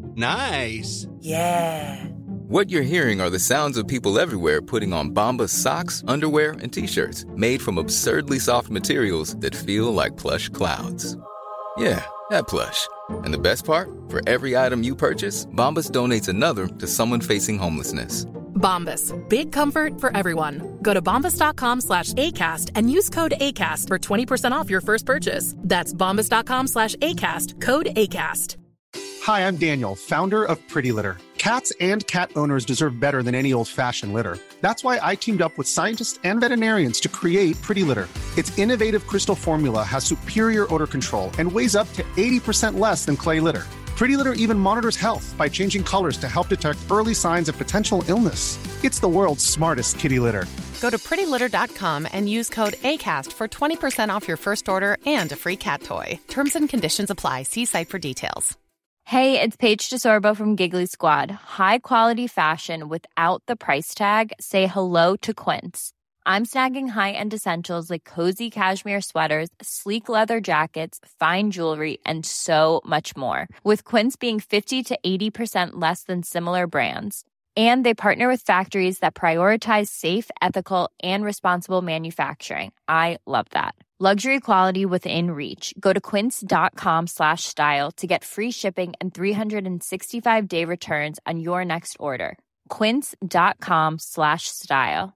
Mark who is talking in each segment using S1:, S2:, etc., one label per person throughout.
S1: Nice.
S2: Yeah.
S3: What you're hearing are the sounds of people everywhere putting on Bombas socks, underwear, and T-shirts made from absurdly soft materials that feel like plush clouds. Yeah, that plush. And the best part? For every item you purchase, Bombas donates another to someone facing homelessness.
S4: Bombas. Big comfort for everyone. Go to bombas.com/ACAST and use code ACAST for 20% off your first purchase. That's bombas.com/ACAST. Code ACAST.
S5: Hi, I'm Daniel, founder of Pretty Litter. Cats and cat owners deserve better than any old-fashioned litter. That's why I teamed up with scientists and veterinarians to create Pretty Litter. Its innovative crystal formula has superior odor control and weighs up to 80% less than clay litter. Pretty Litter even monitors health by changing colors to help detect early signs of potential illness. It's the world's smartest kitty litter.
S6: Go to prettylitter.com and use code ACAST for 20% off your first order and a free cat toy. Terms and conditions apply. See site for details.
S7: Hey, it's Paige DeSorbo from Giggly Squad. High quality fashion without the price tag. Say hello to Quince. I'm snagging high-end essentials like cozy cashmere sweaters, sleek leather jackets, fine jewelry, and so much more. With Quince being 50 to 80% less than similar brands. And they partner with factories that prioritize safe, ethical, and responsible manufacturing. I love that. Luxury quality within reach. Go to quince.com/style to get free shipping and 365-day returns on your next order. Quince.com/style.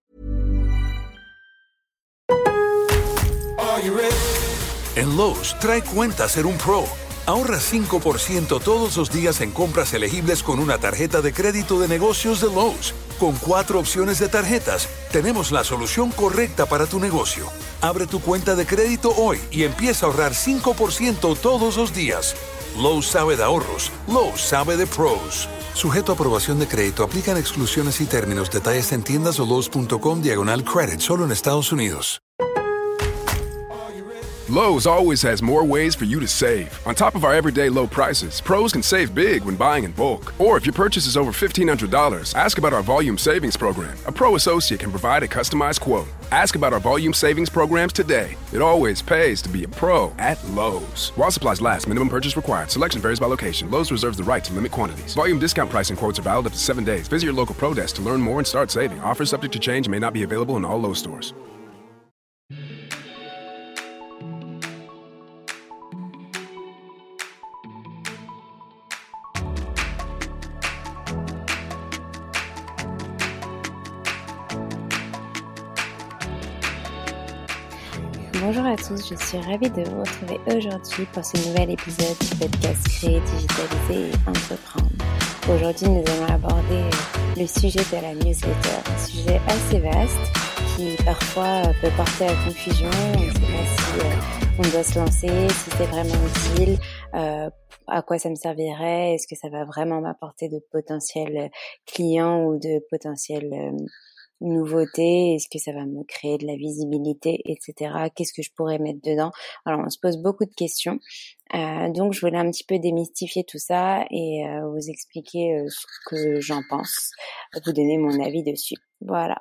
S8: En Lowe's, trae cuenta ser un pro. Ahorra 5% todos los días en compras elegibles con una tarjeta de crédito de negocios de Lowe's. Con 4 opciones de tarjetas, tenemos la solución correcta para tu negocio. Abre tu cuenta de crédito hoy y empieza a ahorrar 5% todos los días. Lowe's sabe de ahorros. Lowe's sabe de pros. Sujeto a aprobación de crédito, aplican exclusiones y términos. Detalles en tiendas o lowes.com/credit. Solo en Estados Unidos.
S9: Lowe's always has more ways for you to save. On top of our everyday low prices, pros can save big when buying in bulk. Or if your purchase is over $1,500, ask about our volume savings program. A pro associate can provide a customized quote. Ask about our volume savings programs today. It always pays to be a pro at Lowe's. While supplies last, minimum purchase required. Selection varies by location. Lowe's reserves the right to limit quantities. Volume discount pricing quotes are valid up to 7 days. Visit your local pro desk to learn more and start saving. Offers subject to change and may not be available in all Lowe's stores.
S10: Bonjour à tous, je suis ravie de vous retrouver aujourd'hui pour ce nouvel épisode du podcast Créer, digitaliser et entreprendre. Aujourd'hui, nous allons aborder le sujet de la newsletter, un sujet assez vaste qui parfois peut porter à confusion. On ne sait pas si on doit se lancer, si c'est vraiment utile, à quoi ça me servirait, est-ce que ça va vraiment m'apporter de potentiels clients ou de potentiels nouveautés, est-ce que ça va me créer de la visibilité, etc. Qu'est-ce que je pourrais mettre dedans? Alors, on se pose beaucoup de questions. Donc, je voulais un petit peu démystifier tout ça et vous expliquer ce que j'en pense, vous donner mon avis dessus. Voilà.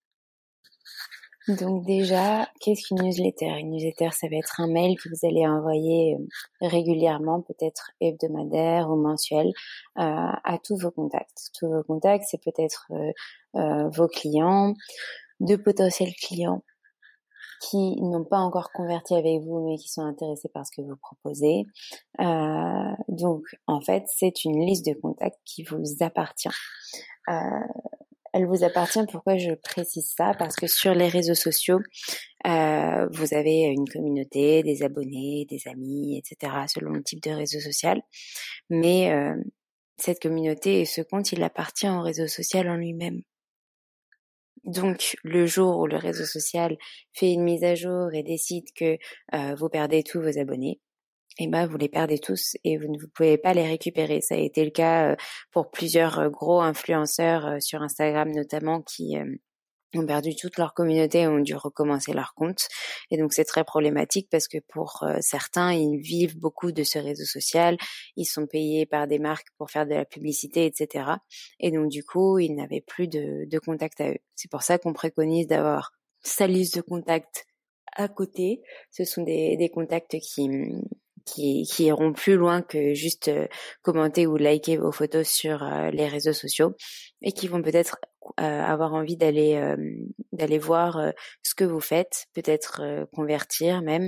S10: Donc déjà, qu'est-ce qu'une newsletter? Une newsletter, ça va être un mail que vous allez envoyer régulièrement, peut-être hebdomadaire ou mensuel, à tous vos contacts. Tous vos contacts, c'est peut-être vos clients, de potentiels clients qui n'ont pas encore converti avec vous, mais qui sont intéressés par ce que vous proposez. Donc, en fait, c'est une liste de contacts qui vous appartient. Elle vous appartient. Pourquoi je précise ça? Parce que sur les réseaux sociaux, vous avez une communauté, des abonnés, des amis, etc. selon le type de réseau social. Mais cette communauté et ce compte, il appartient au réseau social en lui-même. Donc, le jour où le réseau social fait une mise à jour et décide que vous perdez tous vos abonnés, et ben vous les perdez tous et vous ne pouvez pas les récupérer. Ça a été le cas pour plusieurs gros influenceurs sur Instagram notamment qui ont perdu toute leur communauté et ont dû recommencer leur compte. Et donc c'est très problématique parce que pour certains, ils vivent beaucoup de ce réseau social, ils sont payés par des marques pour faire de la publicité, etc. Et donc du coup, ils n'avaient plus de contact à eux. C'est pour ça qu'on préconise d'avoir sa liste de contacts à côté. Ce sont des contacts qui iront plus loin que juste commenter ou liker vos photos sur les réseaux sociaux et qui vont peut-être avoir envie d'aller voir ce que vous faites, peut-être convertir même.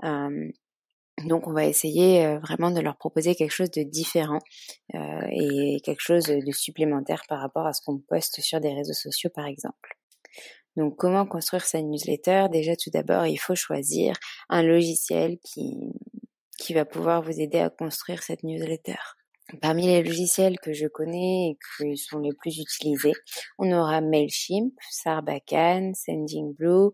S10: Donc on va essayer vraiment de leur proposer quelque chose de différent et quelque chose de supplémentaire par rapport à ce qu'on poste sur des réseaux sociaux par exemple. Donc comment construire sa newsletter? Déjà tout d'abord il faut choisir un logiciel qui va pouvoir vous aider à construire cette newsletter. Parmi les logiciels que je connais et qui sont les plus utilisés, on aura Mailchimp, Sarbacane, Sendingblue,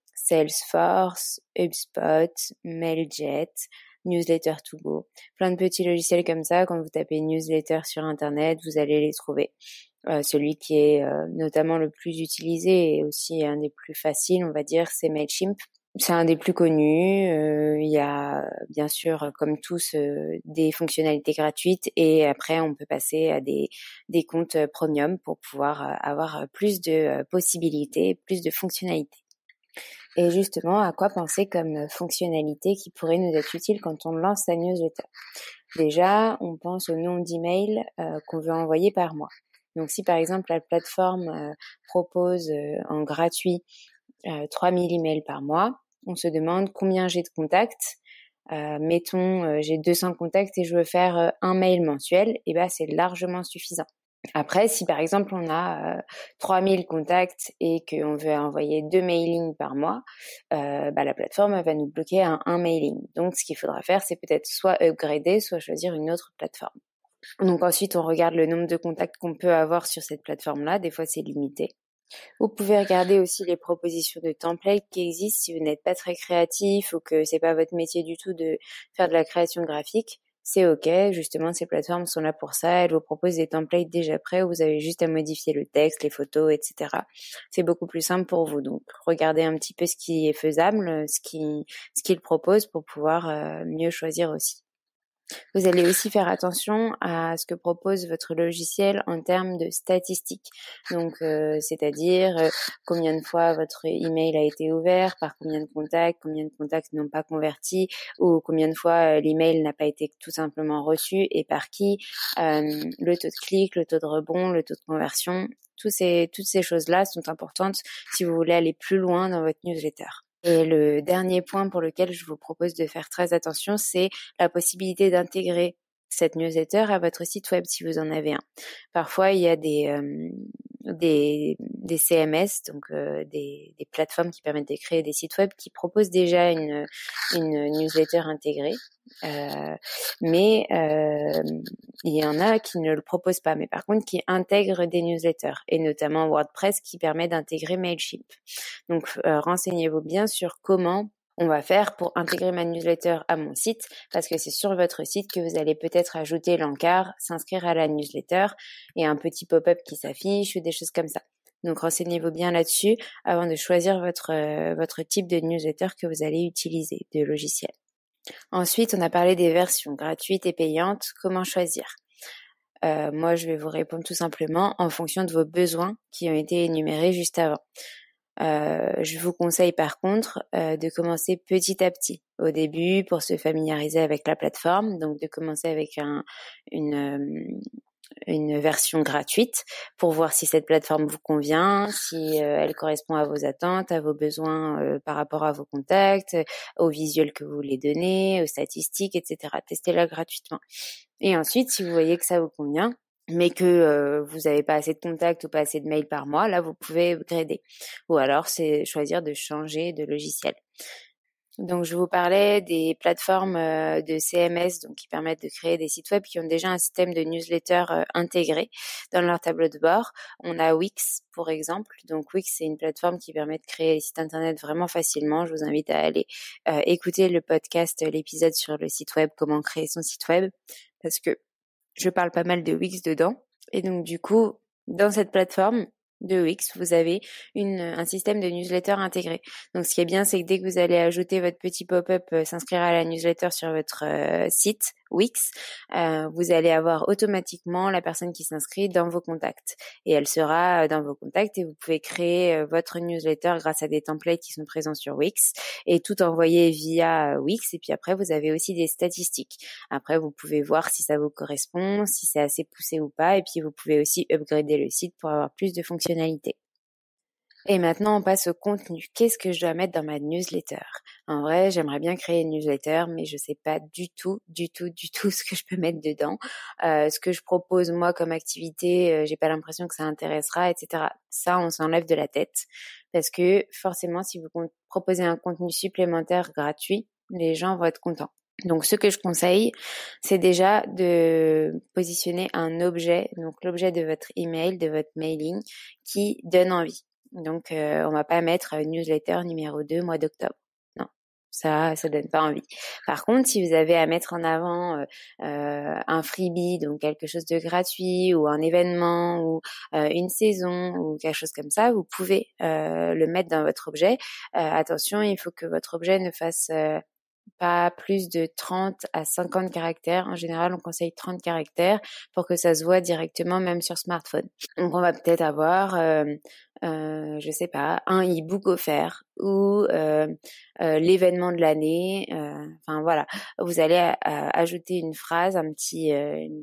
S10: Salesforce, HubSpot, Mailjet, Newsletter2Go. Plein de petits logiciels comme ça, quand vous tapez newsletter sur Internet, vous allez les trouver. Celui qui est notamment le plus utilisé et aussi un des plus faciles, on va dire, c'est Mailchimp. C'est un des plus connus. Il y a bien sûr, comme tous, des fonctionnalités gratuites et après on peut passer à des comptes premium pour pouvoir avoir plus de possibilités, plus de fonctionnalités. Et justement, à quoi penser comme fonctionnalité qui pourrait nous être utile quand on lance sa newsletter? Déjà, on pense au nombre d'emails qu'on veut envoyer par mois. Donc si par exemple la plateforme propose en gratuit 3000 emails par mois, on se demande combien j'ai de contacts. Mettons, j'ai 200 contacts et je veux faire un mail mensuel, et ben c'est largement suffisant. Après, si par exemple on a 3000 contacts et qu'on veut envoyer 2 mailings par mois, la plateforme va nous bloquer un mailing. Donc ce qu'il faudra faire, c'est peut-être soit upgrader, soit choisir une autre plateforme. Donc ensuite, on regarde le nombre de contacts qu'on peut avoir sur cette plateforme-là. Des fois, c'est limité. Vous pouvez regarder aussi les propositions de templates qui existent si vous n'êtes pas très créatif ou que c'est pas votre métier du tout de faire de la création graphique. C'est ok, justement, ces plateformes sont là pour ça. Elles vous proposent des templates déjà prêts où vous avez juste à modifier le texte, les photos, etc. C'est beaucoup plus simple pour vous. Donc, regardez un petit peu ce qui est faisable, ce qu'ils proposent pour pouvoir mieux choisir aussi. Vous allez aussi faire attention à ce que propose votre logiciel en termes de statistiques. Donc, c'est-à-dire combien de fois votre email a été ouvert, par combien de contacts n'ont pas converti, ou combien de fois l'email n'a pas été tout simplement reçu et par qui, le taux de clic, le taux de rebond, le taux de conversion. Toutes ces choses-là sont importantes si vous voulez aller plus loin dans votre newsletter. Et le dernier point pour lequel je vous propose de faire très attention, c'est la possibilité d'intégrer cette newsletter à votre site web si vous en avez un. Parfois, il y a des CMS, donc des plateformes qui permettent de créer des sites web qui proposent déjà une newsletter intégrée. Mais il y en a qui ne le proposent pas, mais par contre qui intègrent des newsletters, et notamment WordPress qui permet d'intégrer Mailchimp. Donc renseignez-vous bien sur comment on va faire pour intégrer ma newsletter à mon site, parce que c'est sur votre site que vous allez peut-être ajouter l'encart, s'inscrire à la newsletter et un petit pop-up qui s'affiche ou des choses comme ça. Donc renseignez-vous bien là-dessus avant de choisir votre type de newsletter que vous allez utiliser, de logiciel. Ensuite, on a parlé des versions gratuites et payantes. Comment choisir? Moi, je vais vous répondre tout simplement en fonction de vos besoins qui ont été énumérés juste avant. Je vous conseille par contre de commencer petit à petit au début pour se familiariser avec la plateforme, donc de commencer avec une version gratuite pour voir si cette plateforme vous convient, si elle correspond à vos attentes, à vos besoins par rapport à vos contacts, aux visuels que vous voulez donner, aux statistiques, etc. Testez-la gratuitement. Et ensuite, si vous voyez que ça vous convient, mais que vous n'avez pas assez de contacts ou pas assez de mails par mois, là, vous pouvez upgrader. Ou alors, c'est choisir de changer de logiciel. Donc, je vous parlais des plateformes de CMS donc qui permettent de créer des sites web qui ont déjà un système de newsletter intégré dans leur tableau de bord. On a Wix, pour exemple. Donc, Wix, c'est une plateforme qui permet de créer des sites internet vraiment facilement. Je vous invite à aller écouter le podcast, l'épisode sur le site web, comment créer son site web, parce que je parle pas mal de Wix dedans. Et donc, du coup, dans cette plateforme de Wix, vous avez un système de newsletter intégré. Donc, ce qui est bien, c'est que dès que vous allez ajouter votre petit pop-up, s'inscrire à la newsletter sur votre site Wix, vous allez avoir automatiquement la personne qui s'inscrit dans vos contacts. Et elle sera dans vos contacts et vous pouvez créer votre newsletter grâce à des templates qui sont présents sur Wix et tout envoyer via Wix. Et puis après, vous avez aussi des statistiques. Après, vous pouvez voir si ça vous correspond, si c'est assez poussé ou pas. Et puis, vous pouvez aussi upgrader le site pour avoir plus de fonctionnalités. Et maintenant, on passe au contenu. Qu'est-ce que je dois mettre dans ma newsletter? En vrai, j'aimerais bien créer une newsletter, mais je sais pas du tout ce que je peux mettre dedans. Ce que je propose, moi, comme activité, j'ai pas l'impression que ça intéressera, etc. Ça, on s'enlève de la tête. Parce que, forcément, si vous proposez un contenu supplémentaire gratuit, les gens vont être contents. Donc, ce que je conseille, c'est déjà de positionner un objet, donc l'objet de votre email, de votre mailing, qui donne envie. Donc, on va pas mettre newsletter numéro 2 mois d'octobre. Non, ça donne pas envie. Par contre, si vous avez à mettre en avant un freebie, donc quelque chose de gratuit, ou un événement, ou une saison, ou quelque chose comme ça, vous pouvez le mettre dans votre objet. Attention, il faut que votre objet ne fasse pas plus de 30 à 50 caractères. En général, on conseille 30 caractères pour que ça se voit directement même sur smartphone. Donc, on va peut-être avoir, je sais pas, un e-book offert ou l'événement de l'année. Enfin, voilà. Vous allez ajouter une phrase, un petit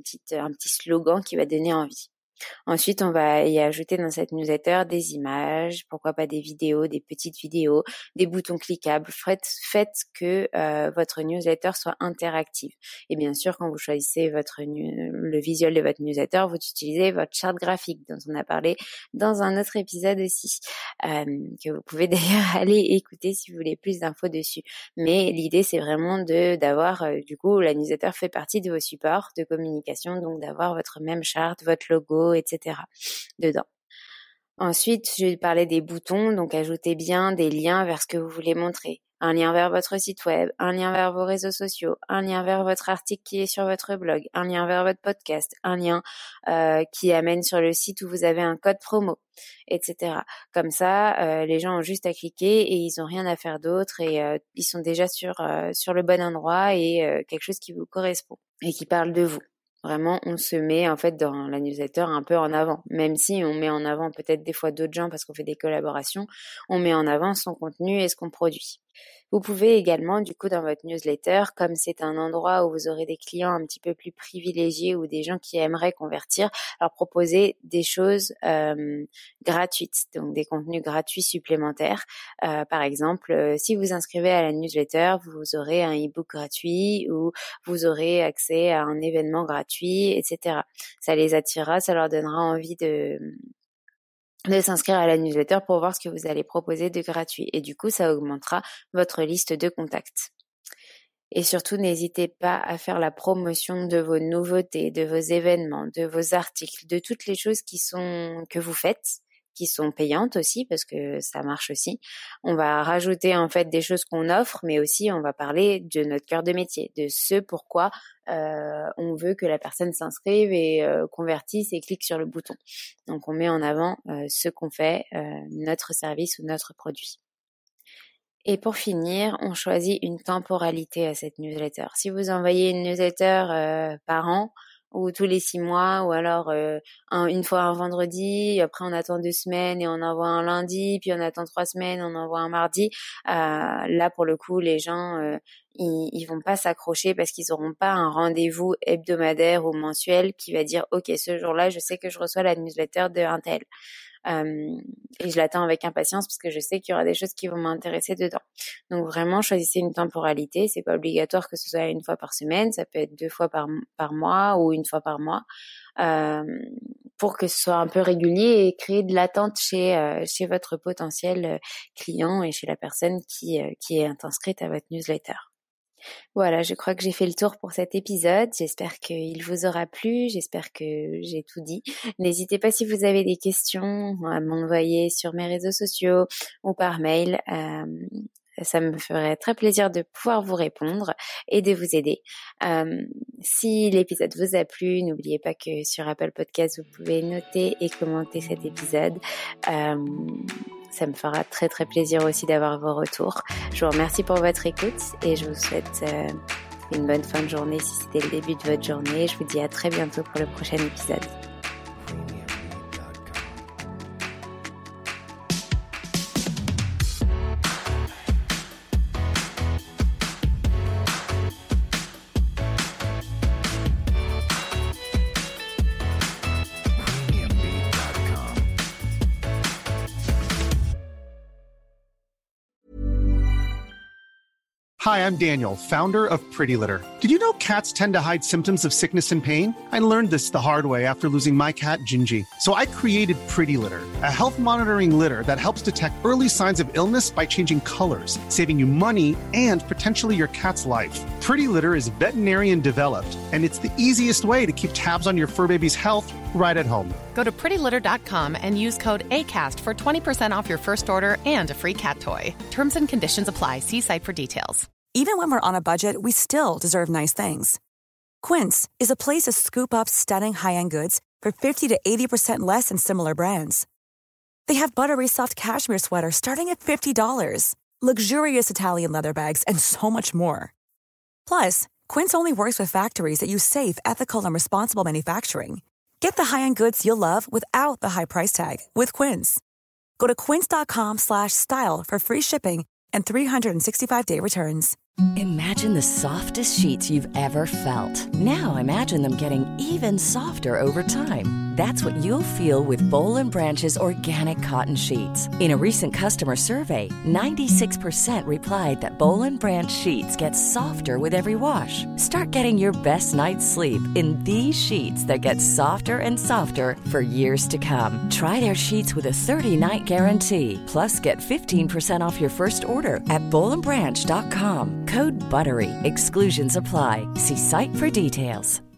S10: slogan qui va donner envie. Ensuite, on va y ajouter dans cette newsletter des images, pourquoi pas des vidéos, des petites vidéos, des boutons cliquables. Faites que votre newsletter soit interactive. Et bien sûr, quand vous choisissez le visuel de votre newsletter, vous utilisez votre charte graphique dont on a parlé dans un autre épisode aussi, que vous pouvez d'ailleurs aller écouter si vous voulez plus d'infos dessus. Mais l'idée, c'est vraiment d'avoir, du coup, la newsletter fait partie de vos supports de communication, donc d'avoir votre même charte, votre logo, etc. dedans. Ensuite, je vais parler des boutons, donc ajoutez bien des liens vers ce que vous voulez montrer. Un lien vers votre site web, un lien vers vos réseaux sociaux, un lien vers votre article qui est sur votre blog, un lien vers votre podcast, un lien qui amène sur le site où vous avez un code promo, etc. Comme ça, les gens ont juste à cliquer et ils n'ont rien à faire d'autre et ils sont déjà sur le bon endroit et quelque chose qui vous correspond et qui parle de vous. Vraiment, on se met en fait dans la newsletter un peu en avant. Même si on met en avant peut-être des fois d'autres gens parce qu'on fait des collaborations, on met en avant son contenu et ce qu'on produit. Vous pouvez également, du coup, dans votre newsletter, comme c'est un endroit où vous aurez des clients un petit peu plus privilégiés ou des gens qui aimeraient convertir, leur proposer des choses gratuites, donc des contenus gratuits supplémentaires. Par exemple, si vous inscrivez à la newsletter, vous aurez un e-book gratuit ou vous aurez accès à un événement gratuit, etc. Ça les attirera, ça leur donnera envie de s'inscrire à la newsletter pour voir ce que vous allez proposer de gratuit. Et du coup, ça augmentera votre liste de contacts. Et surtout, n'hésitez pas à faire la promotion de vos nouveautés, de vos événements, de vos articles, de toutes les choses que vous faites, qui sont payantes aussi, parce que ça marche aussi. On va rajouter en fait des choses qu'on offre, mais aussi on va parler de notre cœur de métier, de ce pourquoi on veut que la personne s'inscrive et convertisse et clique sur le bouton. Donc on met en avant ce qu'on fait, notre service ou notre produit. Et pour finir, on choisit une temporalité à cette newsletter. Si vous envoyez une newsletter par an, ou tous les 6 mois, ou alors une fois un vendredi, après on attend 2 semaines et on envoie un lundi, puis on attend 3 semaines, on envoie un mardi. Là, pour le coup, les gens, ils vont pas s'accrocher parce qu'ils auront pas un rendez-vous hebdomadaire ou mensuel qui va dire « Ok, ce jour-là, je sais que je reçois la newsletter de un tel. » Et je l'attends avec impatience parce que je sais qu'il y aura des choses qui vont m'intéresser dedans. Donc vraiment, choisissez une temporalité. C'est pas obligatoire que ce soit une fois par semaine. Ça peut être 2 fois par mois ou une fois par mois, pour que ce soit un peu régulier et créer de l'attente chez votre potentiel client et chez la personne qui est inscrite à votre newsletter. Voilà, je crois que j'ai fait le tour pour cet épisode. J'espère qu'il vous aura plu. J'espère que j'ai tout dit. N'hésitez pas si vous avez des questions à m'envoyer sur mes réseaux sociaux ou par mail. Ça me ferait très plaisir de pouvoir vous répondre et de vous aider. Si l'épisode vous a plu, n'oubliez pas que sur Apple Podcasts, vous pouvez noter et commenter cet épisode. Ça me fera très très plaisir aussi d'avoir vos retours. Je vous remercie pour votre écoute et je vous souhaite une bonne fin de journée si c'était le début de votre journée. Je vous dis à très bientôt pour le prochain épisode.
S5: Hi, I'm Daniel, founder of Pretty Litter. Did you know cats tend to hide symptoms of sickness and pain? I learned this the hard way after losing my cat, Gingy. So I created Pretty Litter, a health monitoring litter that helps detect early signs of illness by changing colors, saving you money and potentially your cat's life. Pretty Litter is veterinarian developed, and it's the easiest way to keep tabs on your fur baby's health right at home.
S6: Go to prettylitter.com and use code ACAST for 20% off your first order and a free cat toy. Terms and conditions apply. See site for details.
S1: Even when we're on a budget, we still deserve nice things. Quince is a place to scoop up stunning high-end goods for 50 to 80% less than similar brands. They have buttery soft cashmere sweaters starting at $50, luxurious Italian leather bags, and so much more. Plus, Quince only works with factories that use safe, ethical, and responsible manufacturing. Get the high-end goods you'll love without the high price tag with Quince. Go to quince.com/style for free shipping and 365-day returns.
S2: Imagine the softest sheets you've ever felt. Now imagine them getting even softer over time. That's what you'll feel with Boll & Branch's organic cotton sheets. In a recent customer survey, 96% replied that Boll & Branch sheets get softer with every wash. Start getting your best night's sleep in these sheets that get softer and softer for years to come. Try their sheets with a 30-night guarantee. Plus, get 15% off your first order at bollandbranch.com. Code BUTTERY. Exclusions apply. See site for details.